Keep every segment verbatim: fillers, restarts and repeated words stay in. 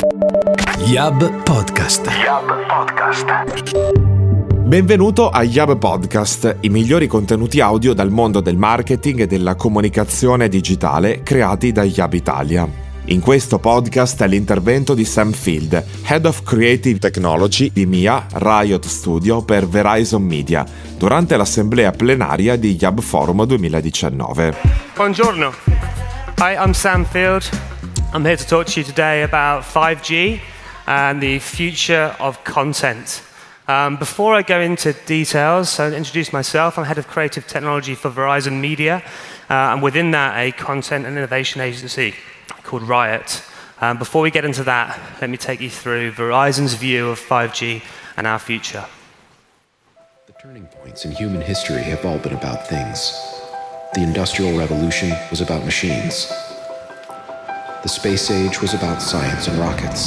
Yab Podcast. Yab Podcast. Benvenuto a Yab Podcast, i migliori contenuti audio dal mondo del marketing e della comunicazione digitale creati da Yab Italia. In questo podcast è l'intervento di Sam Field, Head of Creative Technology di M I A Riot Studio per Verizon Media, durante l'assemblea plenaria di Yab Forum duemiladiciannove. Buongiorno. Hi, I'm Sam Field. I'm here to talk to you today about five G and the future of content. Um, before I go into details, I'll introduce myself. I'm Head of Creative Technology for Verizon Media, uh, and within that, a content and innovation agency called Riot. Um, before we get into that, let me take you through Verizon's view of five G and our future. The turning points in human history have all been about things. The Industrial Revolution was about machines. The space age was about science and rockets.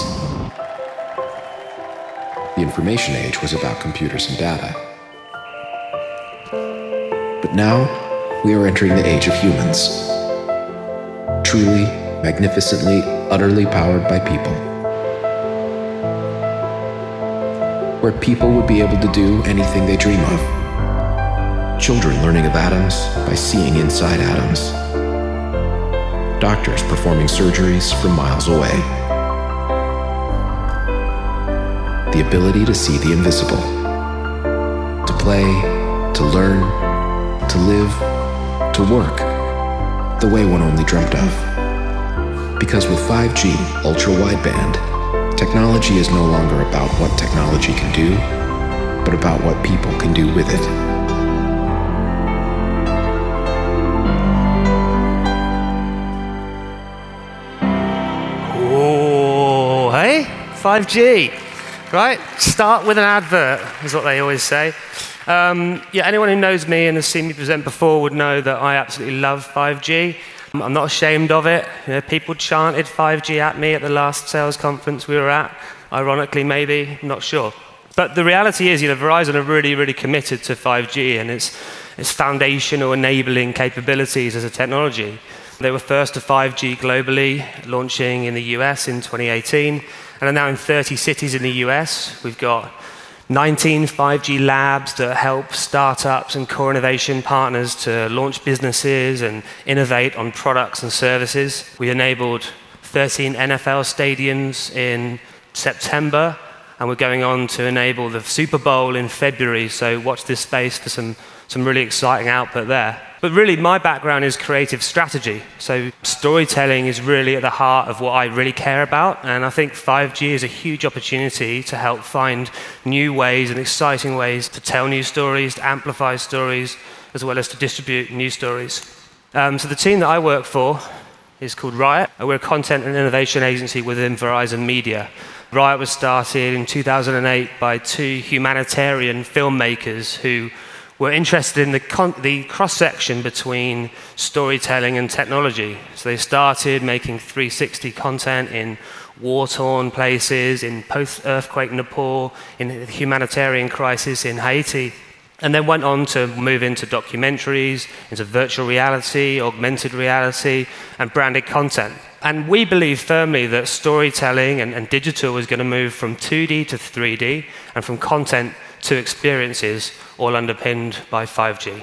The information age was about computers and data. But now, we are entering the age of humans. Truly, magnificently, utterly powered by people. Where people would be able to do anything they dream of. Children learning of atoms by seeing inside atoms. Doctors performing surgeries from miles away. The ability to see the invisible. To play, to learn, to live, to work, the way one only dreamt of. Because with five G ultra-wideband, technology is no longer about what technology can do, but about what people can do with it. Oh, hey, five G. Right? Start with an advert, is what they always say. Um, yeah, anyone who knows me and has seen me present before would know that I absolutely love five G. I'm not ashamed of it. You know, people chanted five G at me at the last sales conference we were at. Ironically, maybe, I'm not sure. But the reality is, you know, Verizon are really, really committed to five G and its, its foundational enabling capabilities as a technology. They were first to five G globally, launching in the U S in twenty eighteen. And are now in thirty cities in the U S. We've got nineteen five G labs that help startups and core innovation partners to launch businesses and innovate on products and services. We enabled thirteen N F L stadiums in September, and we're going on to enable the Super Bowl in February, so watch this space for some, some really exciting output there. But really, my background is creative strategy. So storytelling is really at the heart of what I really care about. And I think five G is a huge opportunity to help find new ways and exciting ways to tell new stories, to amplify stories, as well as to distribute new stories. Um, so the team that I work for is called Riot. We're a content and innovation agency within Verizon Media. Riot was started in two thousand eight by two humanitarian filmmakers who were interested in the, con- the cross-section between storytelling and technology. So they started making three sixty content in war-torn places, in post-earthquake Nepal, in the humanitarian crisis in Haiti, and then went on to move into documentaries, into virtual reality, augmented reality, and branded content. And we believe firmly that storytelling and, and digital is going to move from two D to three D, and from content to experiences, all underpinned by five G.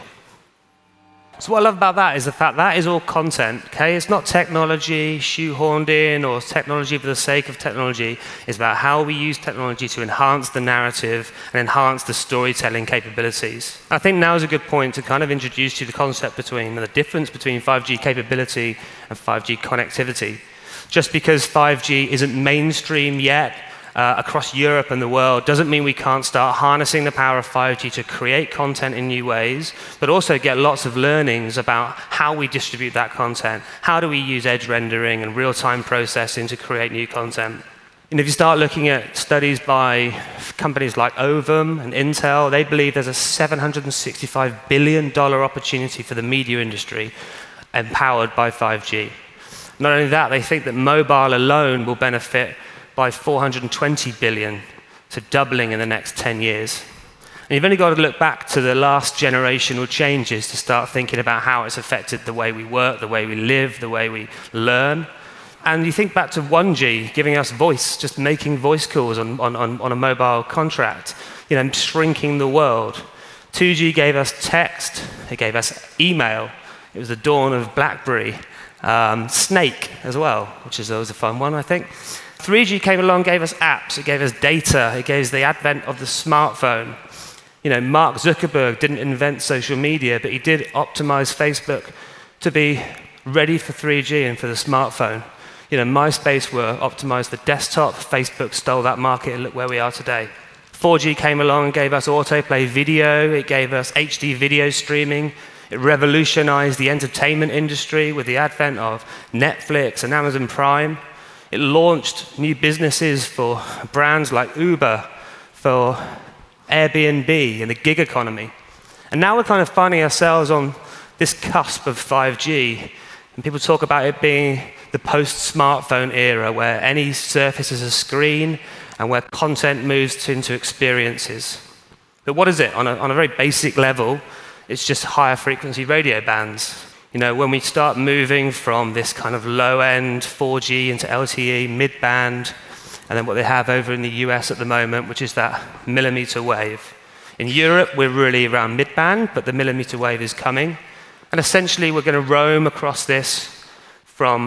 So what I love about that is the fact that is all content, okay? It's not technology shoehorned in or technology for the sake of technology. It's about how we use technology to enhance the narrative and enhance the storytelling capabilities. I think now is a good point to kind of introduce you the concept between, the difference between five G capability and five G connectivity. Just because five G isn't mainstream yet, Uh, across Europe and the world doesn't mean we can't start harnessing the power of five G to create content in new ways, but also get lots of learnings about how we distribute that content. How do we use edge rendering and real-time processing to create new content? And if you start looking at studies by companies like Ovum and Intel, they believe there's a seven hundred sixty-five billion dollars opportunity for the media industry empowered by five G. Not only that, they think that mobile alone will benefit by four hundred twenty billion dollars, so doubling in the next ten years. And you've only got to look back to the last generational changes to start thinking about how it's affected the way we work, the way we live, the way we learn. And you think back to one G giving us voice, just making voice calls on, on, on, on a mobile contract, you know, shrinking the world. two G gave us text, it gave us email. It was the dawn of BlackBerry. Um, Snake as well, which is always a fun one, I think. three G came along, gave us apps, it gave us data, it gave us the advent of the smartphone. You know, Mark Zuckerberg didn't invent social media, but he did optimize Facebook to be ready for three G and for the smartphone. You know, MySpace were optimized for desktop, Facebook stole that market, and look where we are today. four G came along and gave us autoplay video, it gave us H D video streaming, it revolutionized the entertainment industry with the advent of Netflix and Amazon Prime. It launched new businesses for brands like Uber, for Airbnb and the gig economy. And now we're kind of finding ourselves on this cusp of five G. And people talk about it being the post-smartphone era, where any surface is a screen and where content moves into experiences. But what is it? On a, on a very basic level, it's just higher frequency radio bands. You know, when we start moving from this kind of low-end four G into L T E, mid-band, and then what they have over in the U S at the moment, which is that millimeter wave. In Europe, we're really around mid-band, but the millimeter wave is coming. And essentially, we're going to roam across this from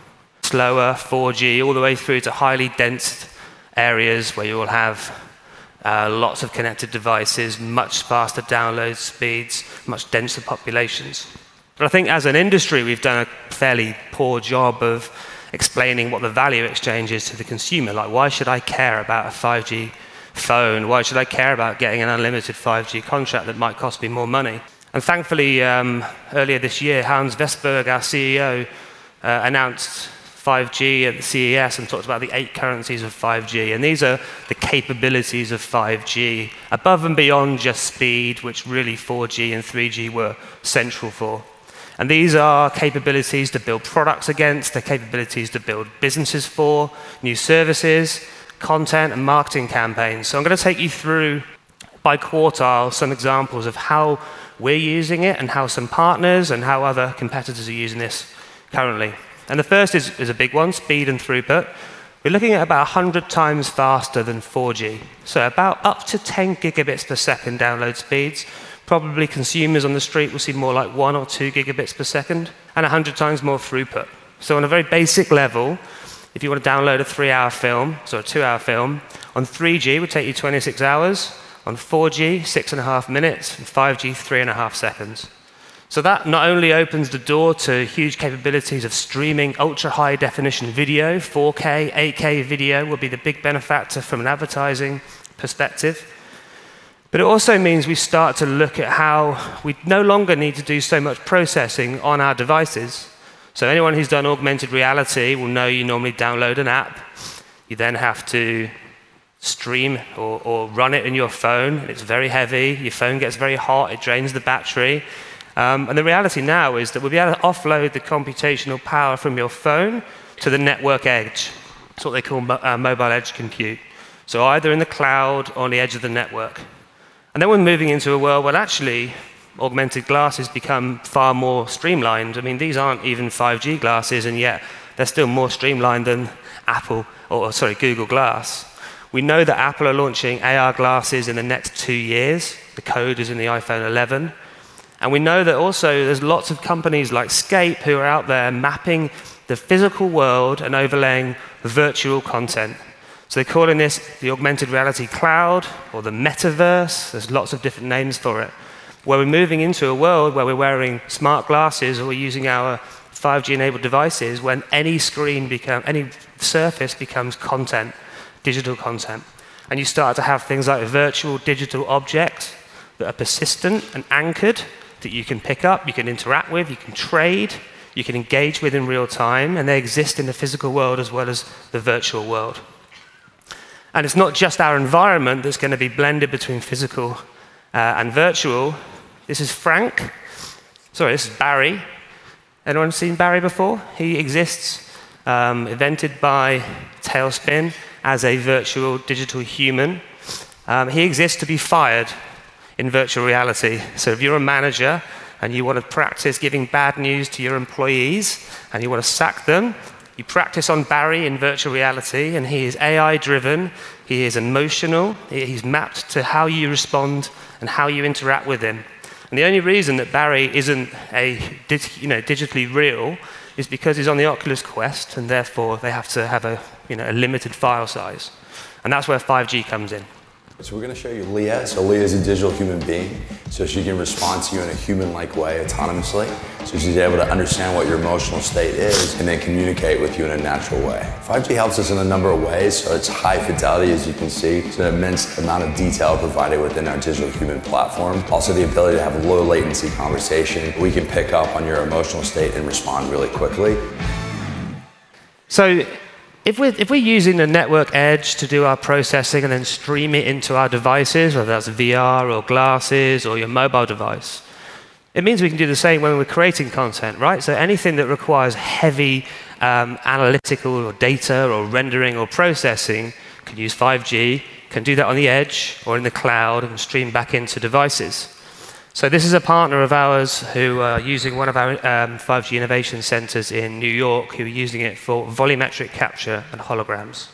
slower four G all the way through to highly dense areas where you will have uh, lots of connected devices, much faster download speeds, much denser populations. But I think as an industry, we've done a fairly poor job of explaining what the value exchange is to the consumer. Like, why should I care about a five G phone? Why should I care about getting an unlimited five G contract that might cost me more money? And thankfully, um, earlier this year, Hans Vestberg, our C E O, uh, announced five G at the C E S and talked about the eight currencies of five G. And these are the capabilities of five G, above and beyond just speed, which really four G and three G were central for. And these are capabilities to build products against, they're capabilities to build businesses for, new services, content, and marketing campaigns. So I'm going to take you through, by quartile, some examples of how we're using it and how some partners and how other competitors are using this currently. And the first is, is a big one, speed and throughput. We're looking at about one hundred times faster than four G. So about up to ten gigabits per second download speeds. Probably consumers on the street will see more like one or two gigabits per second, and one hundred times more throughput. So on a very basic level, if you want to download a three-hour film, so a two-hour film, on three G it would take you twenty-six hours, on four G, six and a half minutes, and five G, three and a half seconds. So that not only opens the door to huge capabilities of streaming ultra-high definition video, four K, eight K video will be the big benefactor from an advertising perspective. But it also means we start to look at how we no longer need to do so much processing on our devices. So anyone who's done augmented reality will know you normally download an app. You then have to stream or, or run it in your phone. It's very heavy. Your phone gets very hot. It drains the battery. Um, and the reality now is that we'll be able to offload the computational power from your phone to the network edge. That's what they call mo- uh, mobile edge compute. So either in the cloud or on the edge of the network. And then we're moving into a world where actually augmented glasses become far more streamlined. I mean, these aren't even five G glasses, and yet they're still more streamlined than Apple, or sorry, Google Glass. We know that Apple are launching A R glasses in the next two years. The code is in the iPhone eleven. And we know that also there's lots of companies like Scape who are out there mapping the physical world and overlaying virtual content. So they're calling this the augmented reality cloud or the metaverse. There's lots of different names for it. Where we're moving into a world where we're wearing smart glasses or we're using our five G-enabled devices when any screen become, any surface becomes content, digital content. And you start to have things like virtual digital objects that are persistent and anchored that you can pick up, you can interact with, you can trade, you can engage with in real time, and they exist in the physical world as well as the virtual world. And it's not just our environment that's going to be blended between physical uh, and virtual. This is Frank. Sorry, this is Barry. Anyone seen Barry before? He exists, um, invented by Tailspin as a virtual digital human. Um, he exists to be fired in virtual reality. So if you're a manager and you want to practice giving bad news to your employees and you want to sack them, You practice on Barry in virtual reality, and he is A I-driven, he is emotional, he's mapped to how you respond and how you interact with him. And the only reason that Barry isn't a you know, digitally real is because he's on the Oculus Quest, and therefore they have to have a, you know, a limited file size. And that's where five G comes in. So we're going to show you Leah. So Leah is a digital human being, so she can respond to you in a human-like way autonomously. So she's able to understand what your emotional state is and then communicate with you in a natural way. five G helps us in a number of ways. So it's high fidelity, as you can see. It's an immense amount of detail provided within our digital human platform. Also the ability to have a low latency conversation. We can pick up on your emotional state and respond really quickly. So If we're, if we're using the network edge to do our processing and then stream it into our devices, whether that's V R or glasses or your mobile device, it means we can do the same when we're creating content, right? So anything that requires heavy um, analytical or data or rendering or processing can use five G, can do that on the edge or in the cloud and stream back into devices. So this is a partner of ours who are using one of our um, five G innovation centers in New York, who are using it for volumetric capture and holograms.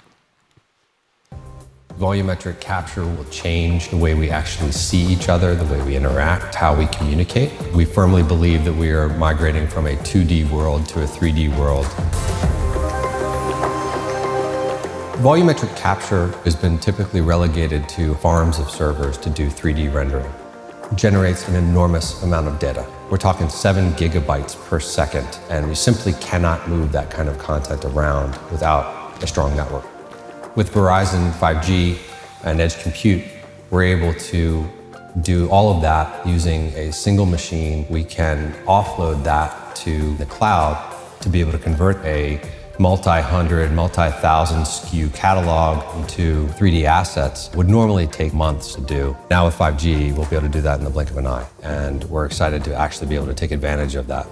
Volumetric capture will change the way we actually see each other, the way we interact, how we communicate. We firmly believe that we are migrating from a two D world to a three D world. Volumetric capture has been typically relegated to farms of servers to do three D rendering. Generates an enormous amount of data. We're talking seven gigabytes per second, and we simply cannot move that kind of content around without a strong network. With Verizon five G and edge compute, we're able to do all of that using a single machine. We can offload that to the cloud to be able to convert a multi-hundred, multi-thousand S K U catalog into three D assets. Would normally take months to do. Now with five G, we'll be able to do that in the blink of an eye. And we're excited to actually be able to take advantage of that.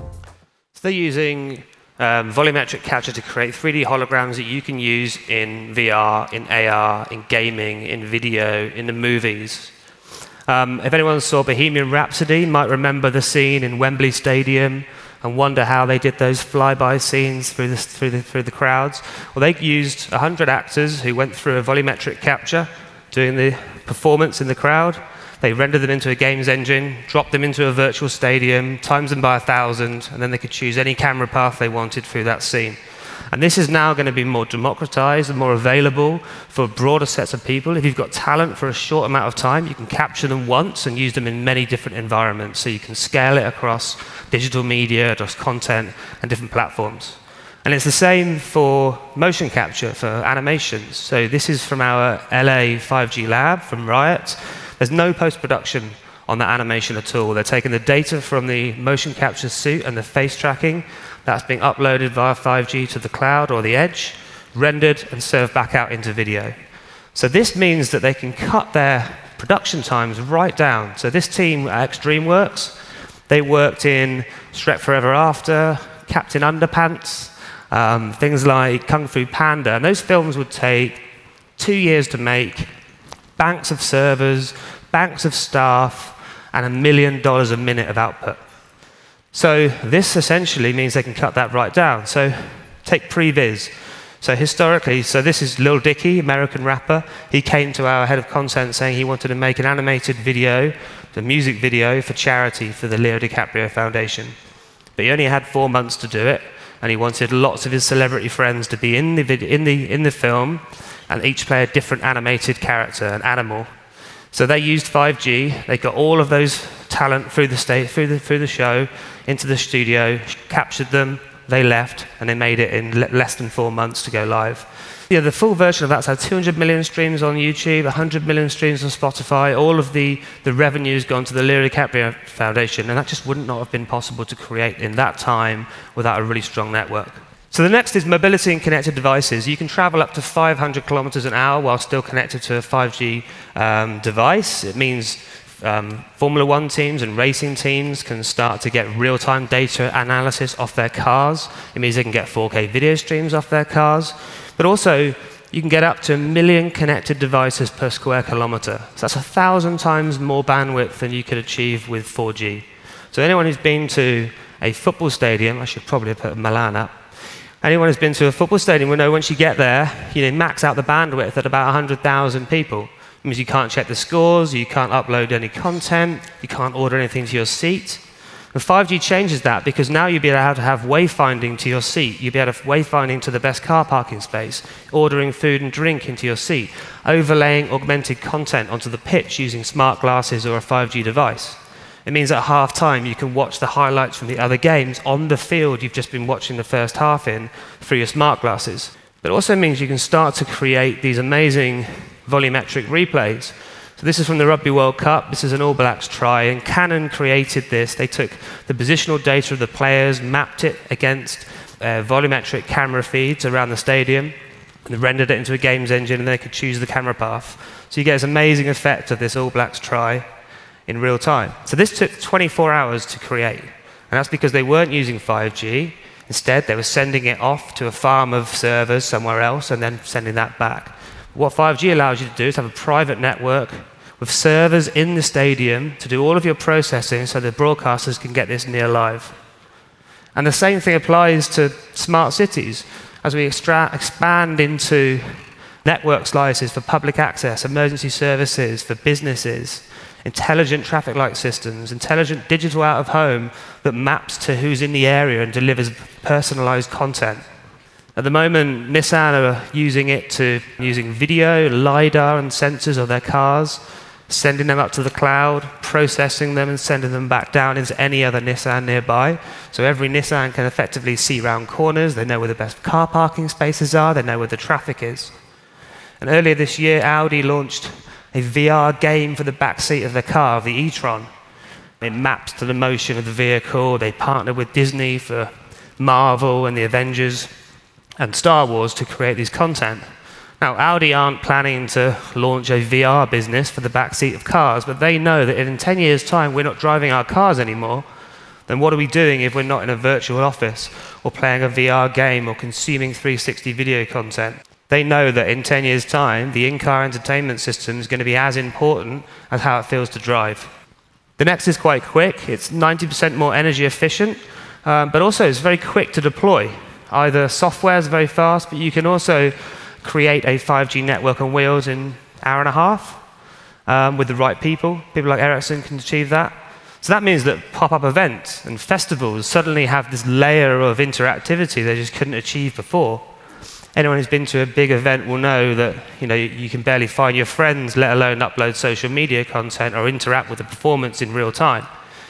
So they're using um, volumetric capture to create three D holograms that you can use in V R, in A R, in gaming, in video, in the movies. Um, if anyone saw Bohemian Rhapsody, you might remember the scene in Wembley Stadium and wonder how they did those flyby scenes through the, through the, through the crowds. Well, they used one hundred actors who went through a volumetric capture, doing the performance in the crowd. They rendered them into a games engine, dropped them into a virtual stadium, times them by a thousand, and then they could choose any camera path they wanted through that scene. And this is now going to be more democratized and more available for broader sets of people. If you've got talent for a short amount of time, you can capture them once and use them in many different environments. So you can scale it across digital media, across content, and different platforms. And it's the same for motion capture, for animations. So this is from our L A five G lab, from Riot. There's no post-production on that animation at all. They're taking the data from the motion capture suit and the face tracking. That's being uploaded via five G to the cloud or the edge, rendered and served back out into video. So this means that they can cut their production times right down. So this team at X DreamWorks, they worked in Shrek Forever After, Captain Underpants, um, things like Kung Fu Panda. And those films would take two years to make, banks of servers, banks of staff, and a million dollars a minute of output. So this essentially means they can cut that right down. So take Previs. So historically, so this is Lil Dicky, American rapper. He came to our head of content saying he wanted to make an animated video, a music video for charity for the Leo DiCaprio Foundation. But he only had four months to do it, and he wanted lots of his celebrity friends to be in the, vid in the, in the film, and each play a different animated character, an animal. So they used five G. They got all of those talent through the, state, through the, through the show into the studio, captured them, they left, and they made it in le less than four months to go live. Yeah, the full version of that's had two hundred million streams on YouTube, one hundred million streams on Spotify. All of the, the revenue's gone to the Leo DiCaprio Foundation, and that just wouldn't not have been possible to create in that time without a really strong network. So the next is mobility and connected devices. You can travel up to five hundred kilometers an hour while still connected to a five G um, device. It means um, Formula One teams and racing teams can start to get real-time data analysis off their cars. It means they can get four K video streams off their cars. But also, you can get up to a million connected devices per square kilometer. So that's a thousand times more bandwidth than you could achieve with four G. So anyone who's been to a football stadium, I should probably put Milan up, Anyone who's been to a football stadium will know once you get there, you know, max out the bandwidth at about one hundred thousand people. It means you can't check the scores, you can't upload any content, you can't order anything to your seat. And five G changes that because now you'll be able to have wayfinding to your seat. You'll be able to have wayfinding to the best car parking space, ordering food and drink into your seat, overlaying augmented content onto the pitch using smart glasses or a five G device. It means at half-time you can watch the highlights from the other games on the field you've just been watching the first half in through your smart glasses. But it also means you can start to create these amazing volumetric replays. So this is from the Rugby World Cup. This is an All Blacks try, and Canon created this. They took the positional data of the players, mapped it against uh, volumetric camera feeds around the stadium, and rendered it into a games engine, and they could choose the camera path. So you get this amazing effect of this All Blacks try in real time. So this took twenty-four hours to create, and that's because they weren't using five G. Instead, they were sending it off to a farm of servers somewhere else and then sending that back. What five G allows you to do is have a private network with servers in the stadium to do all of your processing so the broadcasters can get this near live. And the same thing applies to smart cities. As we extra- expand into network slices for public access, emergency services, for businesses, intelligent traffic light systems, intelligent digital out of home that maps to who's in the area and delivers personalized content. At the moment, Nissan are using it to using video, LiDAR and sensors of their cars, sending them up to the cloud, processing them and sending them back down into any other Nissan nearby. So every Nissan can effectively see round corners, they know where the best car parking spaces are, they know where the traffic is. And earlier this year, Audi launched a V R game for the back seat of the car, the e-tron. It maps to the motion of the vehicle. They partnered with Disney for Marvel and the Avengers and Star Wars to create this content. Now, Audi aren't planning to launch a V R business for the back seat of cars, but they know that if in ten years' time we're not driving our cars anymore, then what are we doing if we're not in a virtual office or playing a V R game or consuming three sixty video content? They know that in ten years' time, the in-car entertainment system is going to be as important as how it feels to drive. The next is quite quick. It's ninety percent more energy efficient, um, but also it's very quick to deploy. Either software is very fast, but you can also create a five G network on wheels in an hour and a half um, with the right people. People like Ericsson can achieve that. So that means that pop-up events and festivals suddenly have this layer of interactivity they just couldn't achieve before. Anyone who's been to a big event will know that you know you can barely find your friends, let alone upload social media content or interact with the performance in real time.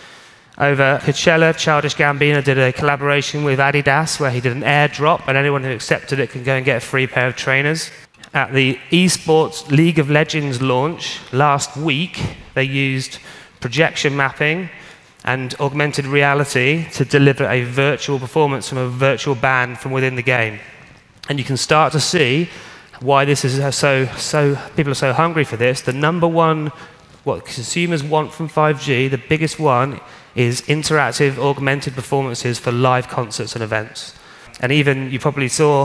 Over Coachella, Childish Gambino did a collaboration with Adidas where he did an airdrop, and anyone who accepted it can go and get a free pair of trainers. At the esports League of Legends launch last week, they used projection mapping and augmented reality to deliver a virtual performance from a virtual band from within the game. And you can start to see why this is so, so, people are so hungry for this. The number one, what consumers want from five G, the biggest one, is interactive, augmented performances for live concerts and events. And even, you probably saw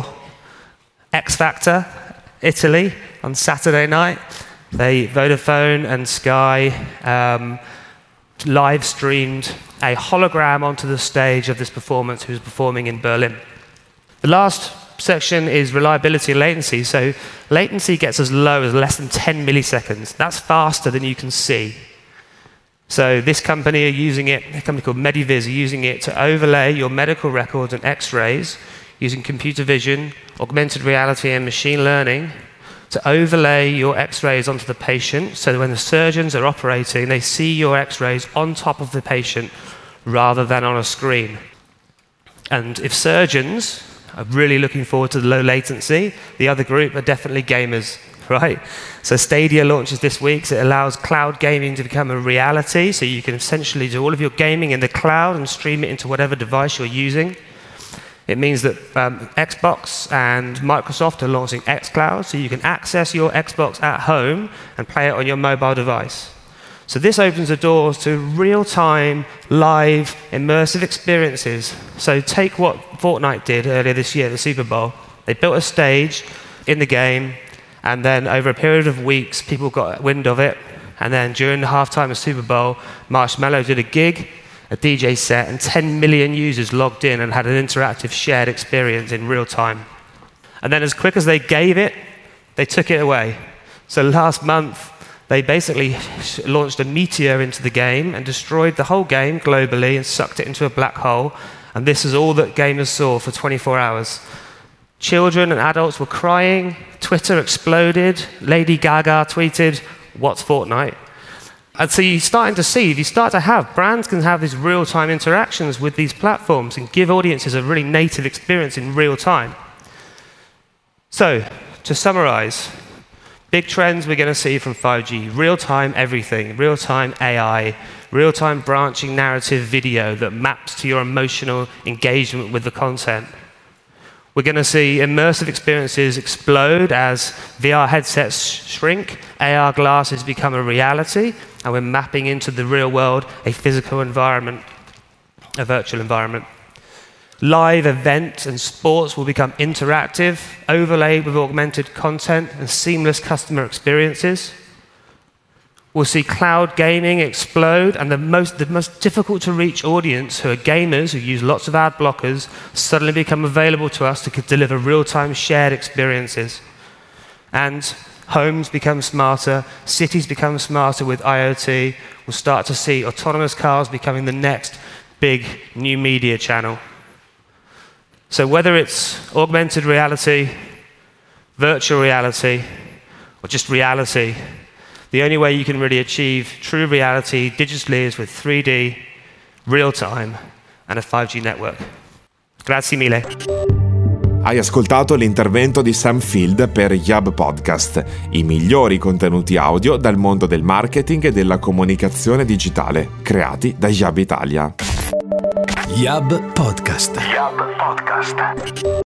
X Factor, Italy, on Saturday night. They, Vodafone and Sky, um, live streamed a hologram onto the stage of this performance who was performing in Berlin. The last section is reliability and latency. So latency gets as low as less than ten milliseconds. That's faster than you can see. So this company are using it, a company called Medivis are using it to overlay your medical records and x-rays using computer vision, augmented reality and machine learning to overlay your x-rays onto the patient so that when the surgeons are operating, they see your x-rays on top of the patient rather than on a screen. And if surgeons are really looking forward to the low latency, the other group are definitely gamers, right? So Stadia launches this week, so it allows cloud gaming to become a reality, so you can essentially do all of your gaming in the cloud and stream it into whatever device you're using. It means that um, Xbox and Microsoft are launching xCloud, so you can access your Xbox at home and play it on your mobile device. So this opens the doors to real-time, live, immersive experiences. So take what Fortnite did earlier this year at the Super Bowl. They built a stage in the game, and then over a period of weeks, people got wind of it. And then during the halftime of Super Bowl, Marshmello did a gig, a D J set, and ten million users logged in and had an interactive shared experience in real time. And then as quick as they gave it, they took it away. So last month, they basically launched a meteor into the game and destroyed the whole game globally and sucked it into a black hole. And this is all that gamers saw for twenty-four hours. Children and adults were crying, Twitter exploded, Lady Gaga tweeted, "What's Fortnite?" And so you're starting to see, if you start to have, brands can have these real-time interactions with these platforms and give audiences a really native experience in real time. So, to summarize, big trends we're going to see from five G: real-time everything, real-time A I, real-time branching narrative video that maps to your emotional engagement with the content. We're going to see immersive experiences explode as V R headsets shrink, A R glasses become a reality, and we're mapping into the real world a physical environment, a virtual environment. Live events and sports will become interactive, overlaid with augmented content and seamless customer experiences. We'll see cloud gaming explode, and the most, the most difficult to reach audience, who are gamers who use lots of ad blockers, suddenly become available to us to deliver real-time shared experiences. And homes become smarter, cities become smarter with I O T. We'll start to see autonomous cars becoming the next big new media channel. So whether it's augmented reality, virtual reality, or just reality, the only way you can really achieve true reality digitally is with three D, real-time, and a five G network. Grazie mille. Hai ascoltato l'intervento di Sam Field per Yab Podcast, i migliori contenuti audio dal mondo del marketing e della comunicazione digitale, creati da Yab Italia. Yab Podcast. Yab Podcast.